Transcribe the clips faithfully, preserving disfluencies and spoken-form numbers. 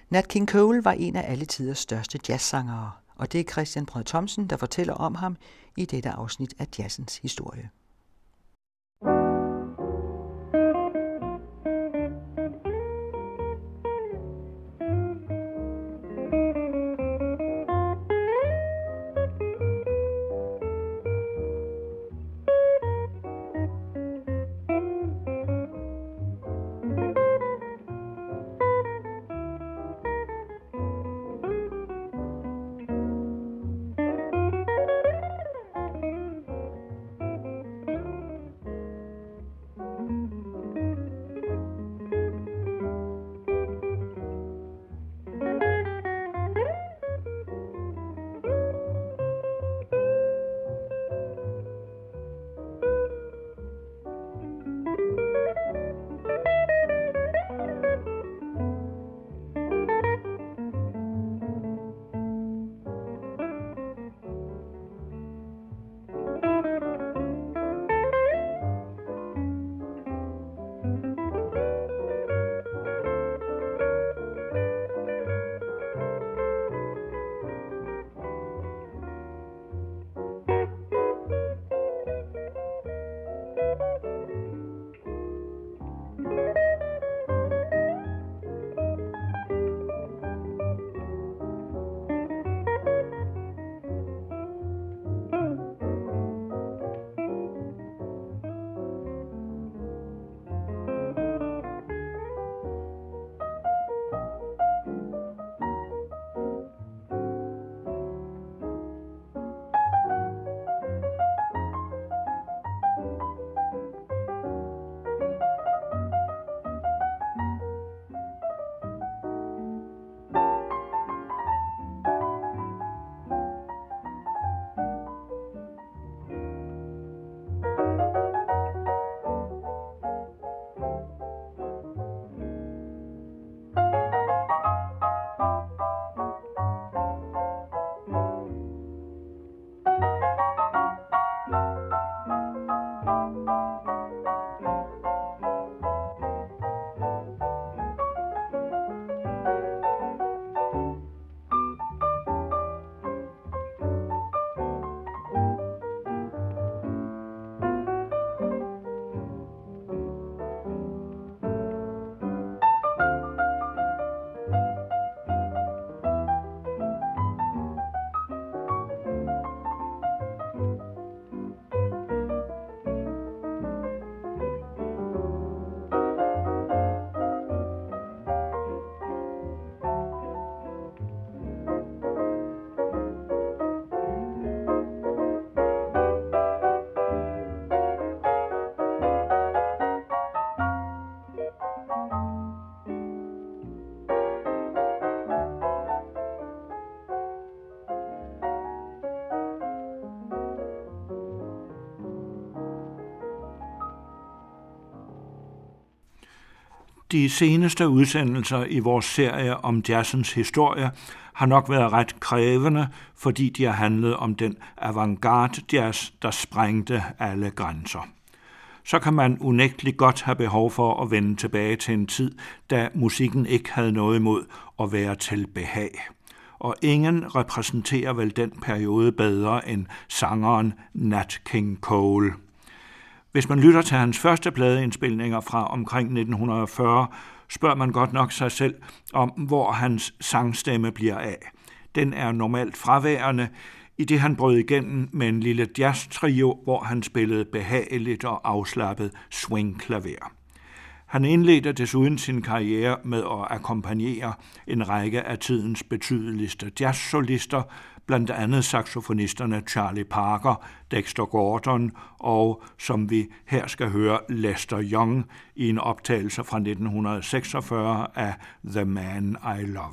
Nat King Cole var en af alle tiders største jazzsangere, og det er Christian Brød Thomsen, der fortæller om ham i dette afsnit af jazzens historie. De seneste udsendelser i vores serie om jazzens historie har nok været ret krævende, fordi de har handlet om den avantgarde jazz, der sprængte alle grænser. Så kan man unægteligt godt have behov for at vende tilbage til en tid, da musikken ikke havde noget imod at være til behag. Og ingen repræsenterer vel den periode bedre end sangeren Nat King Cole. Hvis man lytter til hans første pladeindspilninger fra omkring nitten fyrre, spørger man godt nok sig selv om, hvor hans sangstemme bliver af. Den er normalt fraværende, i det han brød igennem med en lille jazz-trio, hvor han spillede behageligt og afslappet swing-klaver. Han indledte desuden sin karriere med at akkompagnere en række af tidens betydeligste jazzsolister, blandt andet saxofonisterne Charlie Parker, Dexter Gordon og, som vi her skal høre, Lester Young i en optagelse fra nitten seksogfyrre af The Man I Love.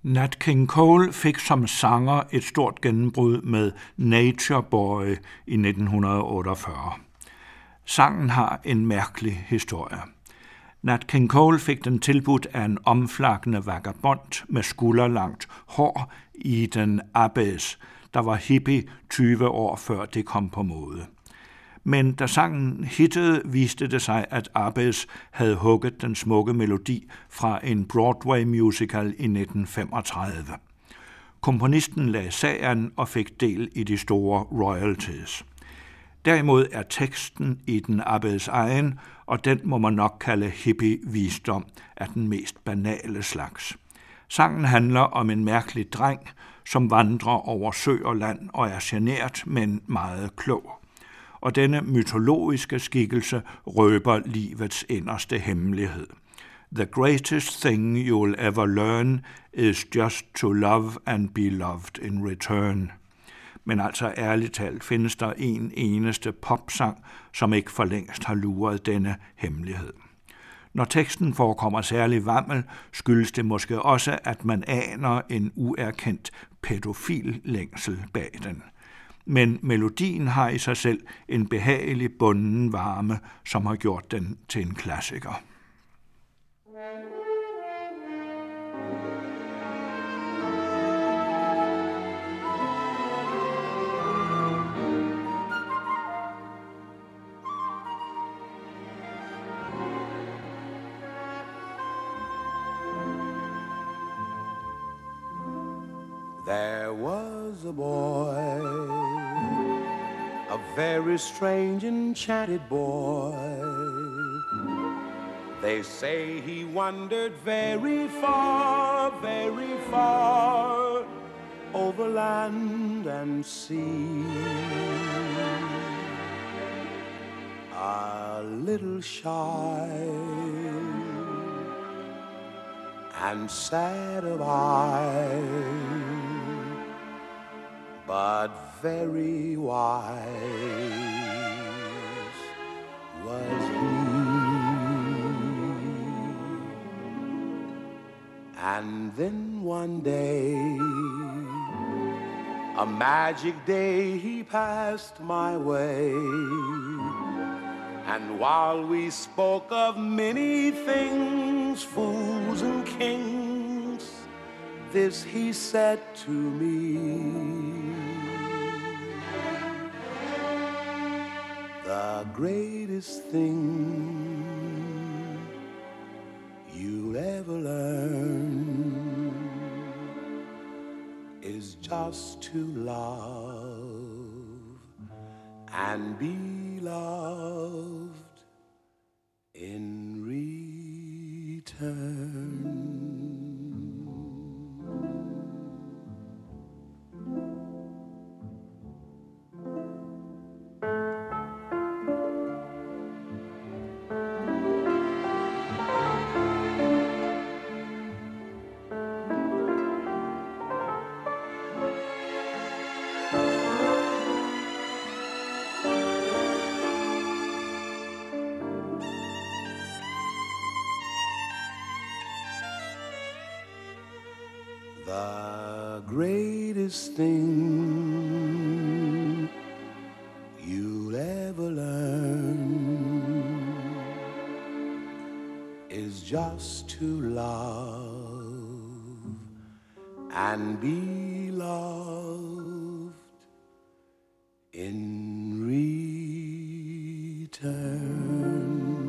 Nat King Cole fik som sanger et stort gennembrud med Nature Boy i nitten otteogfyrre. Sangen har en mærkelig historie. Nat King Cole fik den tilbudt af en omflakkende vagabond med skulderlangt hår i den Abbes, der var hippie tyve år før det kom på mode. Men da sangen hittede, viste det sig, at Abbes havde hugget den smukke melodi fra en Broadway-musical i nitten femogtredive. Komponisten lagde sag an og fik del i de store royalties. Derimod er teksten i den Abbes egen, og den må man nok kalde hippie-visdom af den mest banale slags. Sangen handler om en mærkelig dreng, som vandrer over sø og land og er genert, men meget klog. Og denne mytologiske skikkelse røber livets inderste hemmelighed. The greatest thing you'll ever learn is just to love and be loved in return. Men altså ærligt talt findes der en eneste popsang, som ikke for længst har luret denne hemmelighed. Når teksten forekommer særlig vammel, skyldes det måske også, at man aner en uerkendt pædofil længsel bag den. Men melodien har i sig selv en behagelig bunden varme, som har gjort den til en klassiker. There was a boy, a very strange, enchanted boy. They say he wandered very far, very far, over land and sea. A little shy and sad of eye, but very wise was he. And then one day, a magic day, he passed my way. And while we spoke of many things, fools and kings, this he said to me: the greatest thing you'll ever learn is just to love and be loved in return. The greatest thing you'll ever learn is just to love and be loved in return.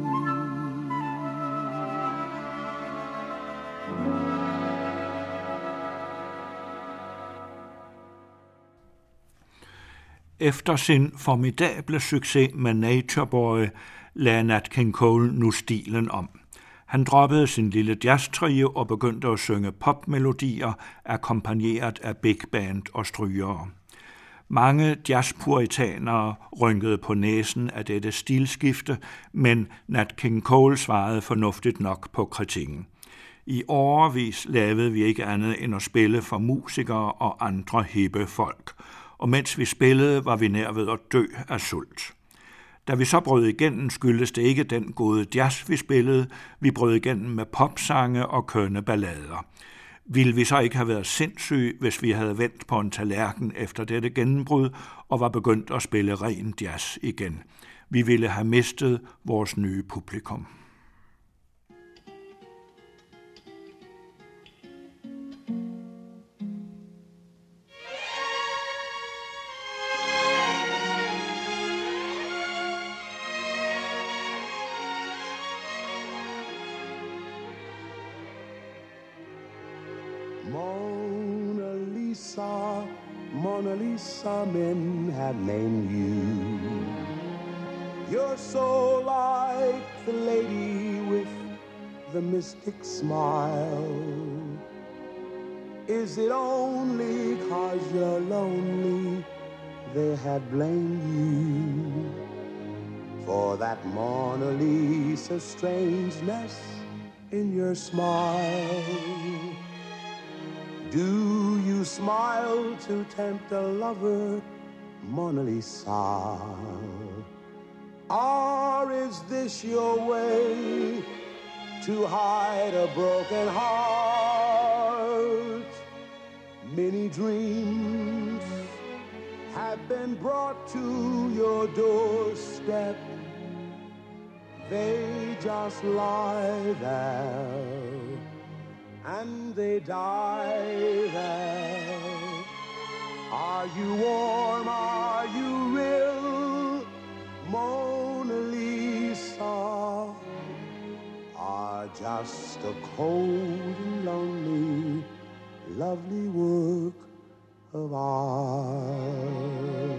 Efter sin formidable succes med Nature Boy lagde Nat King Cole nu stilen om. Han droppede sin lille jazztrio og begyndte at synge popmelodier, akkompagneret af big band og strygere. Mange jazzpuritanere rynkede på næsen af dette stilskifte, men Nat King Cole svarede fornuftigt nok på kritikken. I årevis lavede vi ikke andet end at spille for musikere og andre hippe folk, og mens vi spillede, var vi nær ved at dø af sult. Da vi så brød igennem, skyldes det ikke den gode jazz, vi spillede. Vi brød igennem med popsange og kønne ballader. Ville vi så ikke have været sindssyge, hvis vi havde vendt på en tallerken efter dette gennembrud og var begyndt at spille ren jazz igen? Vi ville have mistet vores nye publikum. Mona Lisa, Mona Lisa, men have named you. You're so like the lady with the mystic smile. Is it only 'cause you're lonely they have blamed you for that Mona Lisa strangeness in your smile? Do you smile to tempt a lover, Mona Lisa? Or is this your way to hide a broken heart? Many dreams have been brought to your doorstep. They just lie there and they die there. Are you warm? Are you real, Mona Lisa? Are just a cold and lonely, lovely work of art.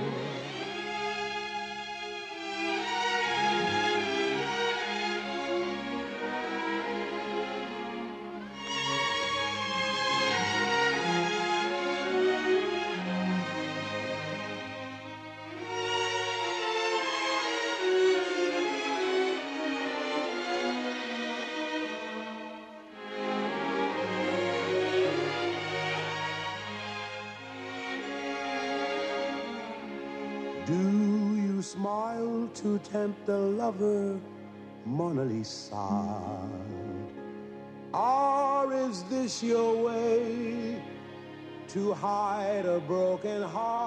Do you smile to tempt a lover, Mona Lisa? Or is this your way to hide a broken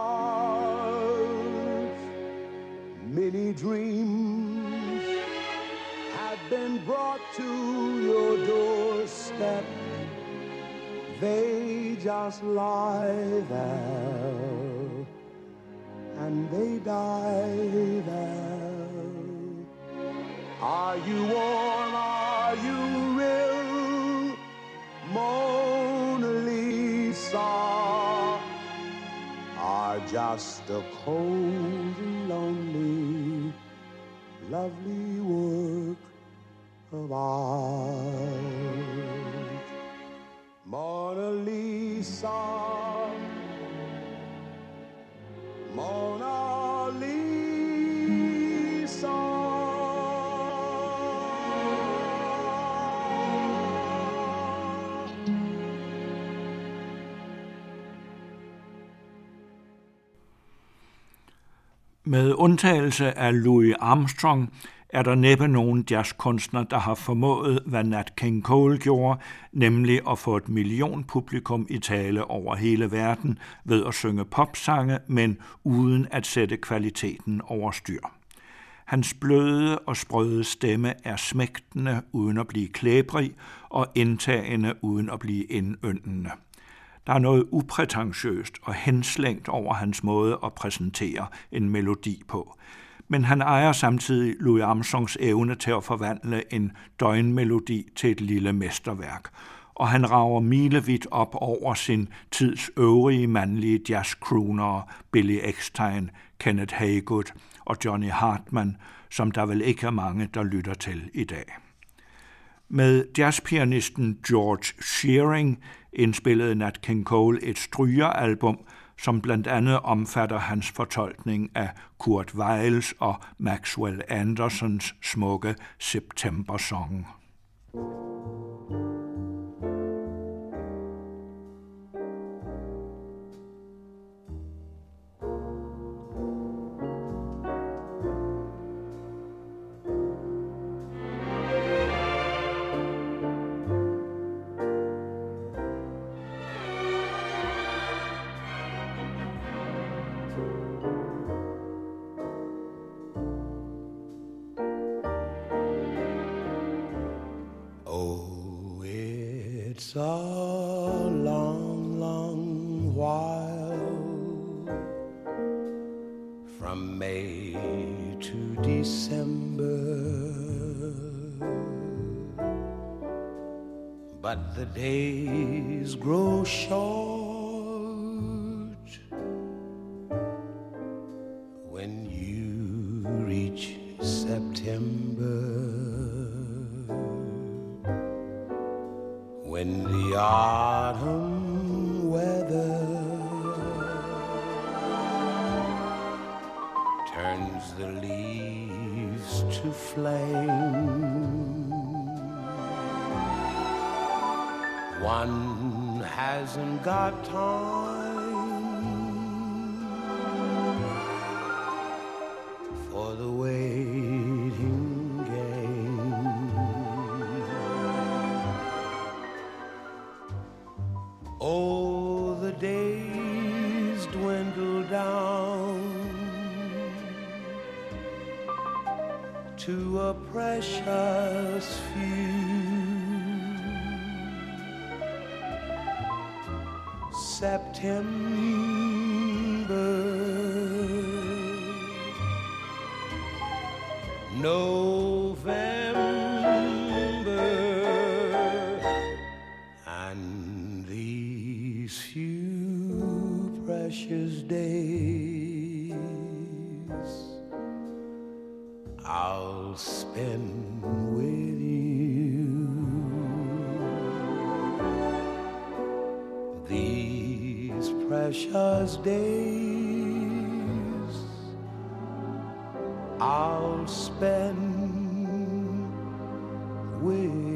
heart? Many dreams have been brought to your doorstep. They just lie there and they die there. Are you warm? Are you real, Mona Lisa? Are just a cold and lonely, lovely work of art. Mona Lisa, Mona Lisa. Med undtagelse af Louis Armstrong er der næppe nogen jazzkunstner, der har formået, hvad Nat King Cole gjorde, nemlig at få et millionpublikum i tale over hele verden ved at synge popsange, men uden at sætte kvaliteten over styr. Hans bløde og sprøde stemme er smægtende uden at blive klæbrig og indtagende uden at blive indyndende. Der er noget uprætentiøst og henslængt over hans måde at præsentere en melodi på. Men han ejer samtidig Louis Armstrongs evne til at forvandle en døgnmelodi til et lille mesterværk, og han rager milevidt op over sin tids øvrige mandlige jazzcroonere Billy Eckstine, Kenneth Haygood og Johnny Hartman, som der vel ikke er mange, der lytter til i dag. Med jazzpianisten George Shearing indspillede Nat King Cole et strygeralbum, som blandt andet omfatter hans fortolkning af Kurt Weils og Maxwell Andersons smukke September-song. It's a long, long while from May to December, but the days grow short when you reach September, when the autumn weather turns the leaves to flame. One hasn't got time for the waiting game. Oh, the days dwindle down to a precious few. September, November, and these few precious days I'll spend with you. These precious days I'll spend with you.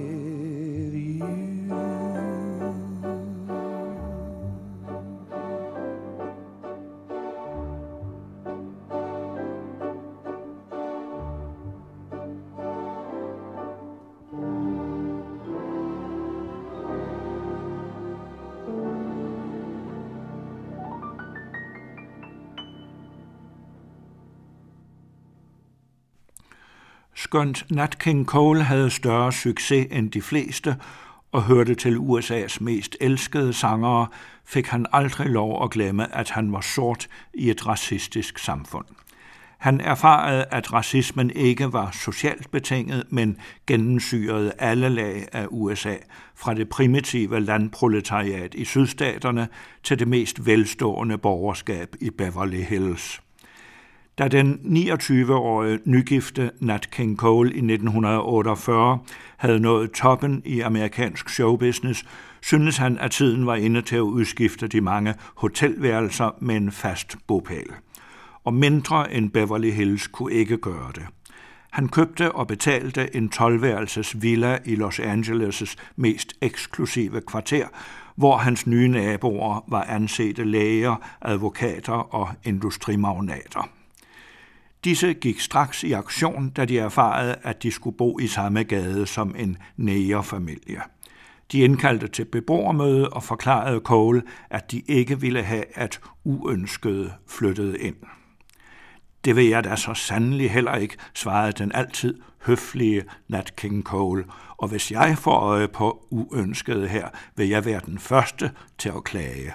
Skønt Nat King Cole havde større succes end de fleste og hørte til U S A's mest elskede sangere, fik han aldrig lov at glemme, at han var sort i et racistisk samfund. Han erfarede, at racismen ikke var socialt betinget, men gennemsyrede alle lag af U S A, fra det primitive landproletariat i sydstaterne til det mest velstående borgerskab i Beverly Hills. Da den niogtyve-årige nygifte Nat King Cole i nitten otteogfyrre havde nået toppen i amerikansk showbusiness, syntes han, at tiden var inde til at udskifte de mange hotelværelser med en fast bopæl. Og mindre end Beverly Hills kunne ikke gøre det. Han købte og betalte en tolv-værelses villa i Los Angeles' mest eksklusive kvarter, hvor hans nye naboer var ansete læger, advokater og industrimagnater. Disse gik straks i aktion, da de erfarede, at de skulle bo i samme gade som en negerfamilie. De indkaldte til beboermøde og forklarede Cole, at de ikke ville have, at uønskede flyttede ind. Det vil jeg da så sandelig heller ikke, svarede den altid høflige Nat King Cole, og hvis jeg får øje på uønskede her, vil jeg være den første til at klage.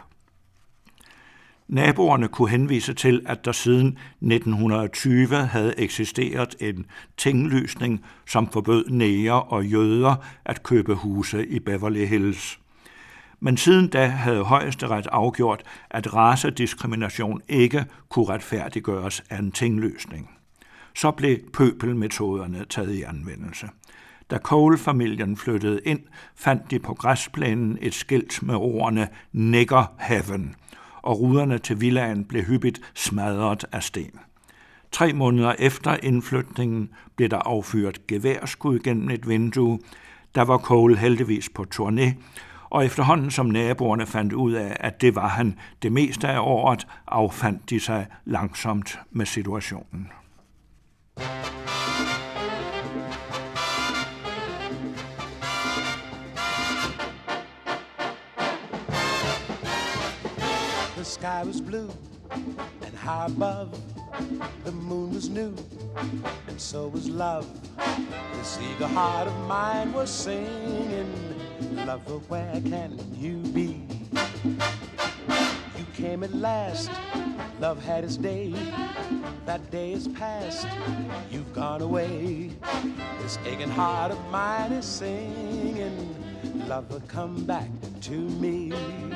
Naboerne kunne henvise til, at der siden nitten tyve havde eksisteret en tinglysning, som forbød neger og jøder at købe huse i Beverly Hills. Men siden da havde Højesteret afgjort, at racediskrimination ikke kunne retfærdiggøres af en tinglysning. Så blev pøbelmetoderne taget i anvendelse. Da Cole-familien flyttede ind, fandt de på græsplænen et skilt med ordene Nigger Heaven, og ruderne til villaen blev hyppigt smadret af sten. Tre måneder efter indflytningen blev der affyret geværskud gennem et vindue. Der var Cole heldigvis på turné, og efterhånden som naboerne fandt ud af, at det var han det meste af året, affandt de sig langsomt med situationen. The sky was blue and high above, the moon was new and so was love. This eager heart of mine was singing Lover, where can you be? You came at last, love had its day. That day is past, you've gone away. This aching heart of mine is singing, lover, come back to me.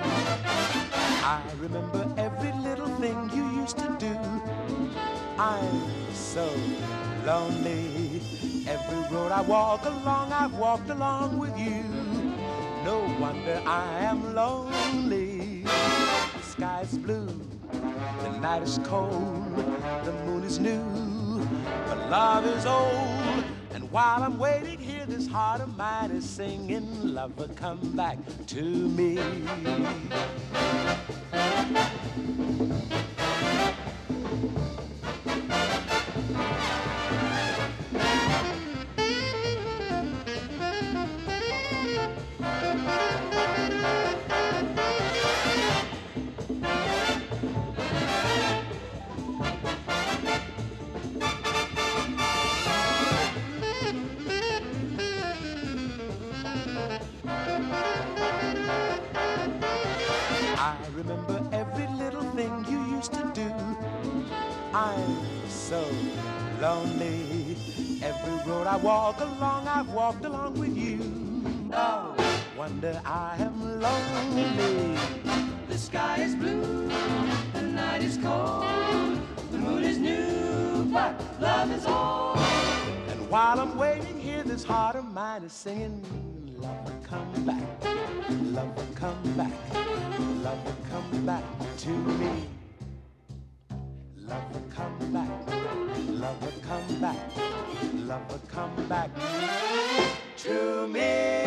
I remember every little thing you used to do. I'm so lonely. Every road I walk along, I've walked along with you. No wonder I am lonely. The sky's blue, the night is cold, the moon is new, but love is old. And while I'm waiting here, this heart of mine is singing, lover, come back to me. I remember every little thing you used to do. I'm so lonely. Every road I walk along, I've walked along with you. No wonder I am lonely. The sky is blue, the night is cold, the moon is new, but love is old. And while I'm waiting here, this heart of mine is singing, lover, come back, lover, come back, lover, come back to me. Lover, come back, lover, come back, lover, come back to me.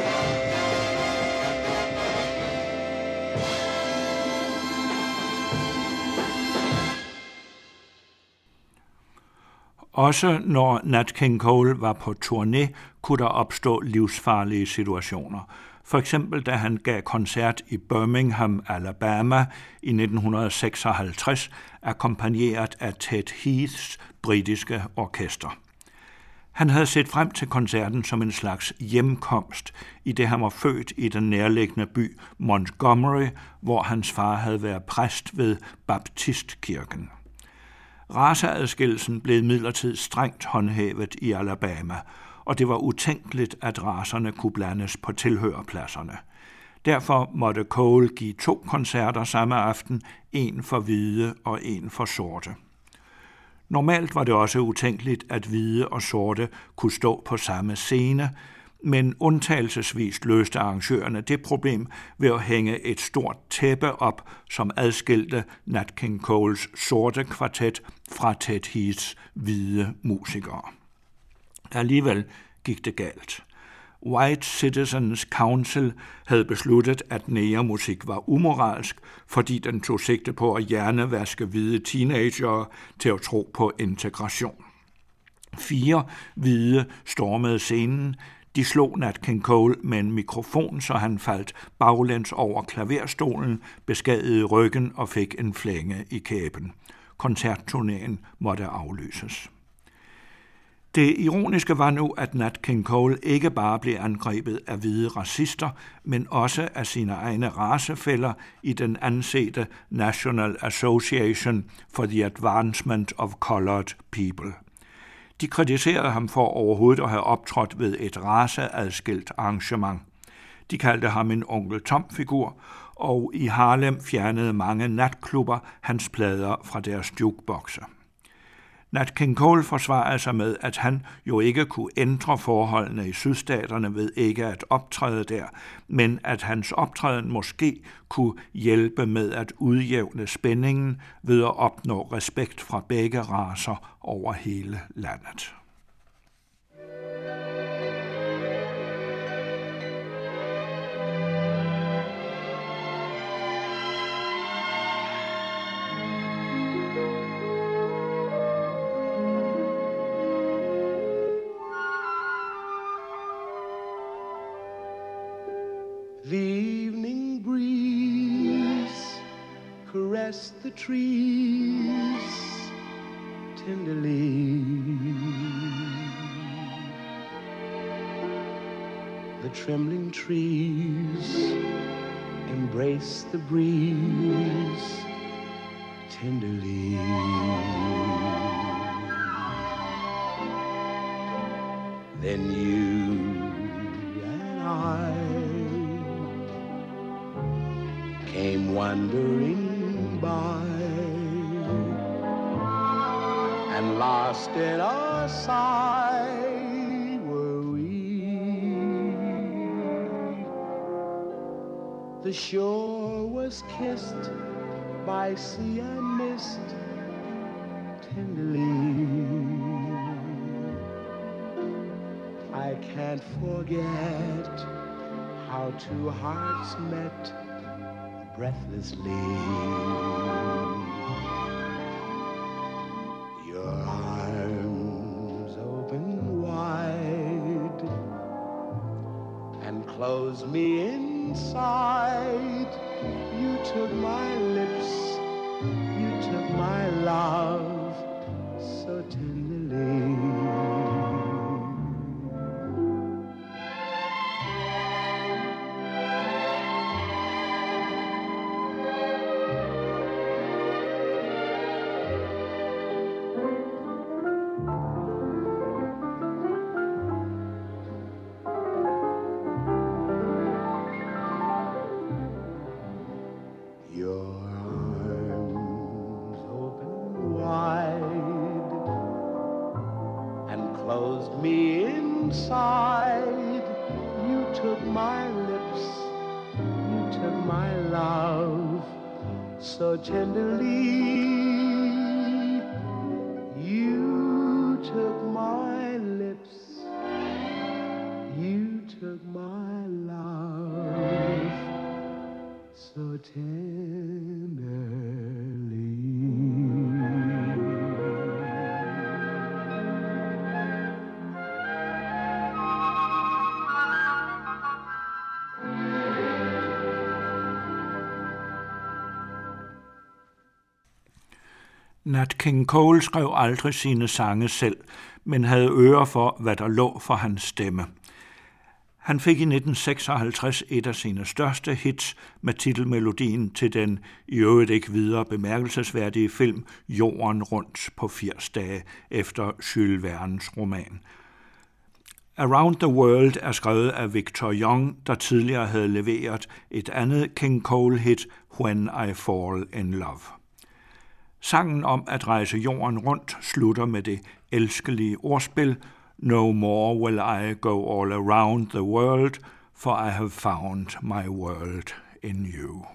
Også når Nat King Cole var på turné, kunne der opstå livsfarlige situationer. For eksempel da han gav koncert i Birmingham, Alabama i nitten seksoghalvtreds, akkompagneret af Ted Heaths britiske orkester. Han havde set frem til koncerten som en slags hjemkomst, i det han var født i den nærliggende by Montgomery, hvor hans far havde været præst ved Baptistkirken. Raceadskillelsen blev imidlertid strengt håndhævet i Alabama, og det var utænkeligt, at racerne kunne blandes på tilhørerpladserne. Derfor måtte Cole give to koncerter samme aften, en for hvide og en for sorte. Normalt var det også utænkeligt, at hvide og sorte kunne stå på samme scene, men undtagelsesvis løste arrangørerne det problem ved at hænge et stort tæppe op, som adskilte Nat King Coles sorte kvartet fra Ted Heaths hvide musikere. Alligevel gik det galt. White Citizens Council havde besluttet, at negermusik var umoralsk, fordi den tog sigte på at hjernevaske hvide teenagere til at tro på integration. Fire hvide stormede scenen. De slog Nat King Cole med en mikrofon, så han faldt baglæns over klaverstolen, beskadigede ryggen og fik en flænge i kæben. Koncertturnéen måtte aflyses. Det ironiske var nu, at Nat King Cole ikke bare blev angrebet af hvide racister, men også af sine egne racefæller i den ansete National Association for the Advancement of Colored People. De kritiserede ham for overhovedet at have optrådt ved et raceadskilt arrangement. De kaldte ham en onkel Tom-figur, og i Harlem fjernede mange natklubber hans plader fra deres jukeboxe. Nat King Cole forsvarede sig med, at han jo ikke kunne ændre forholdene i sydstaterne ved ikke at optræde der, men at hans optræden måske kunne hjælpe med at udjævne spændingen ved at opnå respekt fra begge racer over hele landet. The evening breeze caressed the trees tenderly. the trembling trees embrace the breeze tenderly. Then you and I came wandering by, and lost in our sight were we. The shore was kissed by sea and mist tenderly. I can't forget how two hearts met breathlessly. Your arms open wide and closed me inside. You took my lips, you took my love so tenderly. So tenderly, you took my lips, you took my love, so tenderly. Nat King Cole skrev aldrig sine sange selv, men havde øre for, hvad der lå for hans stemme. Han fik i nitten seksoghalvtreds et af sine største hits med titelmelodien til den i øvrigt ikke videre bemærkelsesværdige film Jorden rundt på firs dage efter Jules Vernes roman. Around the World er skrevet af Victor Young, der tidligere havde leveret et andet King Cole-hit, When I Fall in Love. Sangen om at rejse jorden rundt slutter med det elskelige ordspil No more will I go all around the world, for I have found my world in you.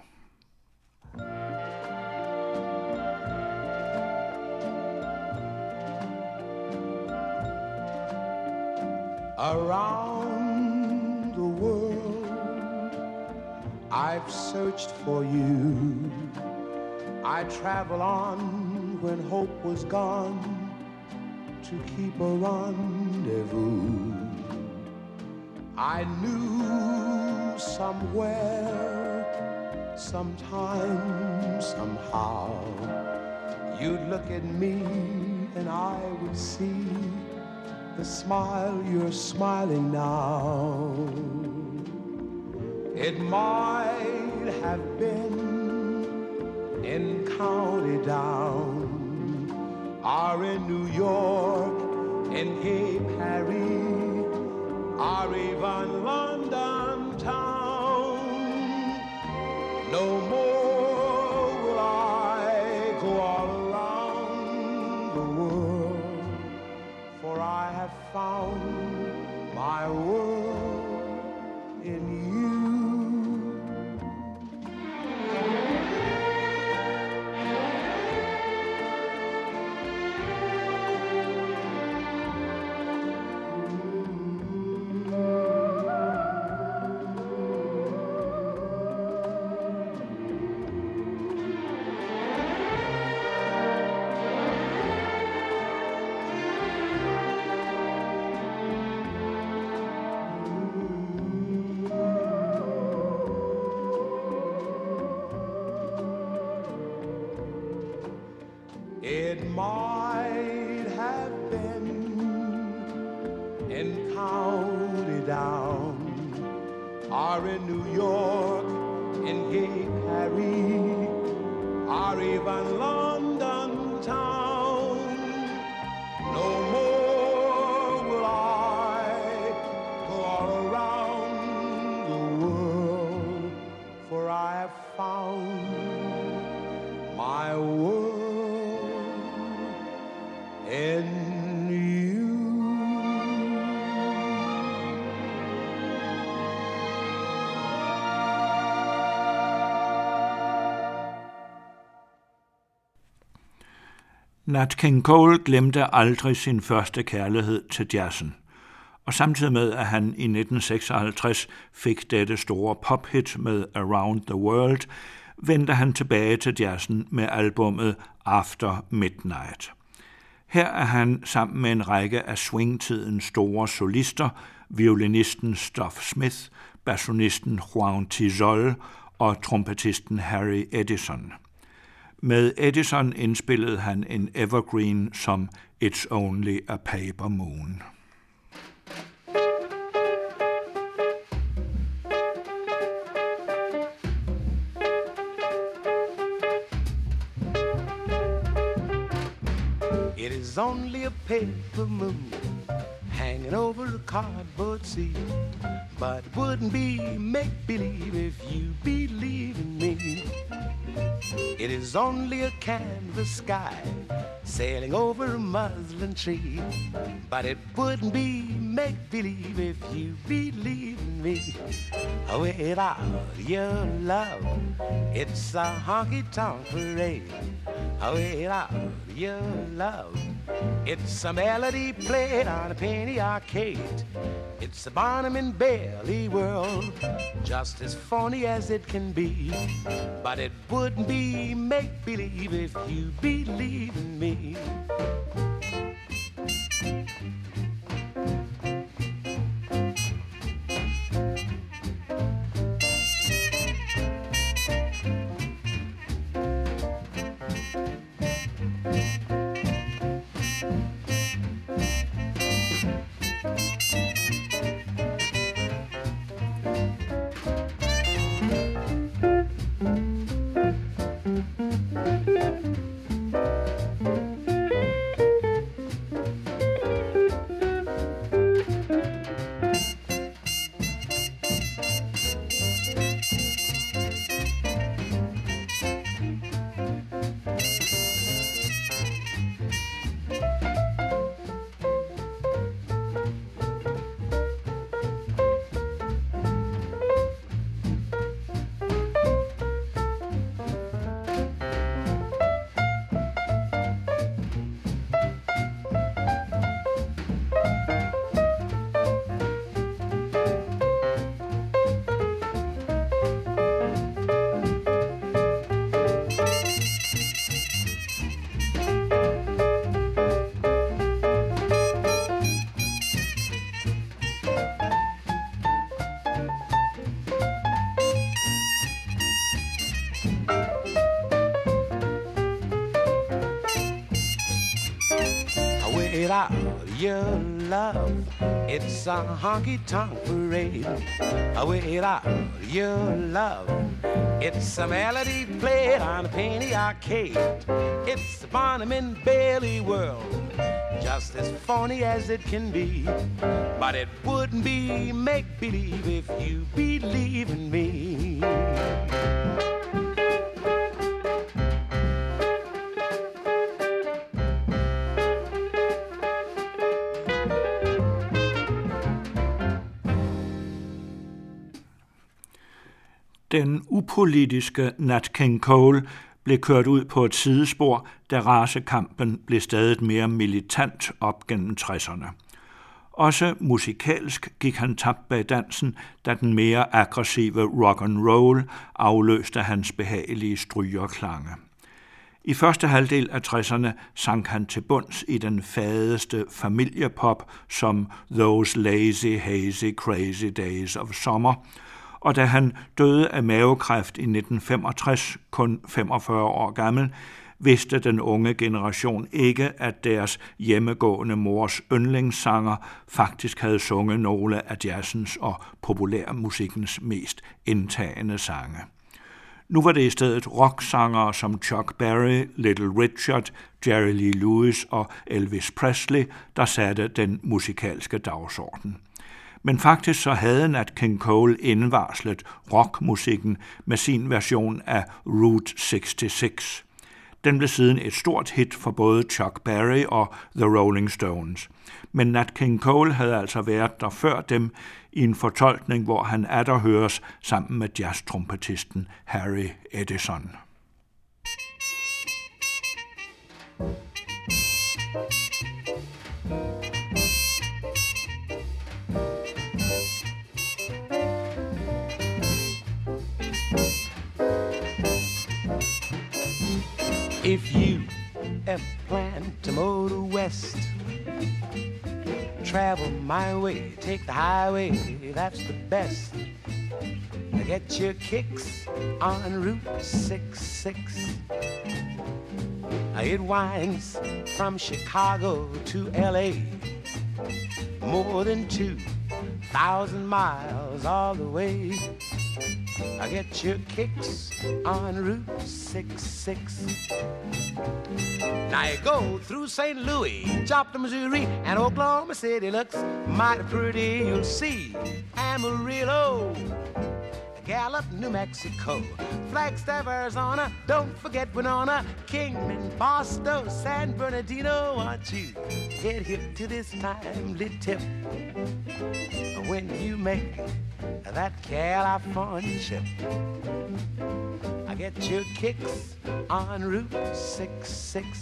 Around the world I've searched for you. I travel on when hope was gone to keep a rendezvous. I knew somewhere, sometime, somehow, you'd look at me and I would see the smile you're smiling now. It might have been in County Down, or in New York, in Gay Paris, or even London town. No more will I go all around the world, for I have found my world in you. It might have been in County Down, or in New York, in gay Paris, or even London town. No more will I go all around the world, for I have found my world in you. Nat King Cole glemte aldrig sin første kærlighed til jazzen, og samtidig med, at han i nitten seksoghalvtreds fik dette store pophit med Around the World, vendte han tilbage til jazzen med albummet After Midnight. Her er han sammen med en række af swingtidens store solister, violinisten Stuff Smith, bassonisten Juan Tizol og trompetisten Harry Edison. Med Edison indspillede han en evergreen som It's Only a Paper Moon. It is only a paper moon hanging over a cardboard sea, but it wouldn't be make-believe if you believe in me. It is only a canvas sky sailing over a muslin tree, but it wouldn't be make-believe if you believe in me. Without your love, it's a honky-tonk parade. Without your love, it's a melody played on a penny arcade. It's a Barnum and Bailey world, just as phony as it can be. But it wouldn't be make-believe if you believe in me. Without your love, it's a honky-tonk parade. Without your love, it's a melody played on a penny arcade. It's a Barnum and Bailey world, just as phony as it can be. But it wouldn't be make-believe if you believe in me. Den upolitiske Nat King Cole blev kørt ud på et sidespor, da racekampen blev stadig mere militant op gennem tresserne. Også musikalsk gik han tabt bag dansen, da den mere aggressive rock and roll afløste hans behagelige strygerklange. I første halvdel af tresserne sank han til bunds i den fadeste familiepop som Those Lazy, Hazy, Crazy Days of Summer, og da han døde af mavekræft i nitten femogtres, kun femogfyrre år gammel, vidste den unge generation ikke, at deres hjemmegående mors yndlingssanger faktisk havde sunget nogle af jazzens og populærmusikkens mest indtagende sange. Nu var det i stedet rocksangere som Chuck Berry, Little Richard, Jerry Lee Lewis og Elvis Presley, der satte den musikalske dagsorden. Men faktisk så havde Nat King Cole indvarslet rockmusikken med sin version af Route seksogtres. Den blev siden et stort hit for både Chuck Berry og The Rolling Stones. Men Nat King Cole havde altså været der før dem i en fortolkning, hvor han atter høres sammen med jazztrompetisten Harry Edison. If you ever plan to motor west, travel my way, take the highway, that's the best. Get your kicks on Route sixty-six. It winds from Chicago to L A, more than two thousand miles all the way. I get your kicks on Route sixty-six. Now you go through Saint Louis, Joplin, Missouri, and Oklahoma City looks mighty pretty, you'll see. Amarillo, Gallup, New Mexico, Flagstaff, Arizona, don't forget Winona, Kingman, Boston, San Bernardino. Want you get hip to this timely tip when you make that California trip. I get your kicks on Route sixty-six.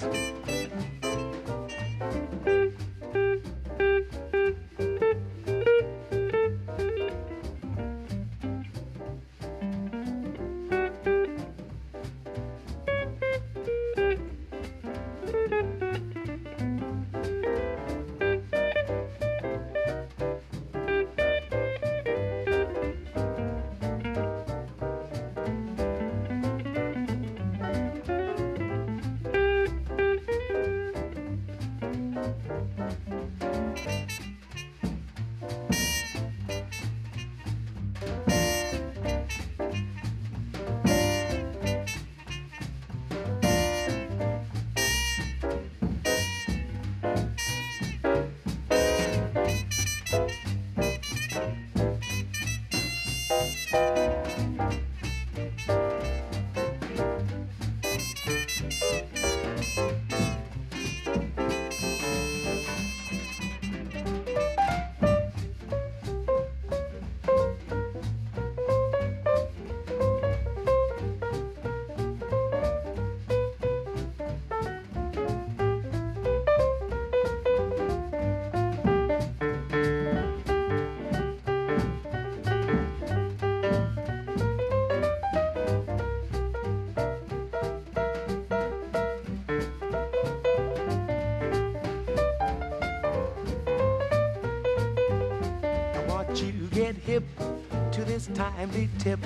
Get hip to this timely tip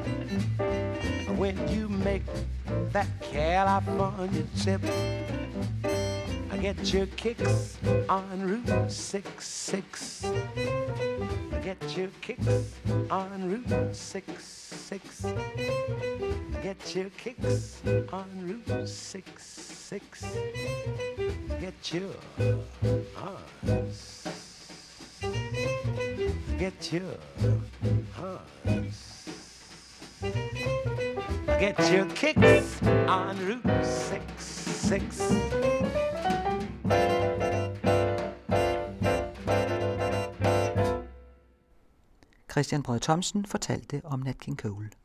when you make that California trip. I get your kicks on Route sixty-six. I get your kicks on Route sixty-six. I get your kicks on Route sixty-six. Get your arms. Get your hearts. Get your kicks on Route sixty-six. Christian Brød Thomsen fortalte om Nat King Cole.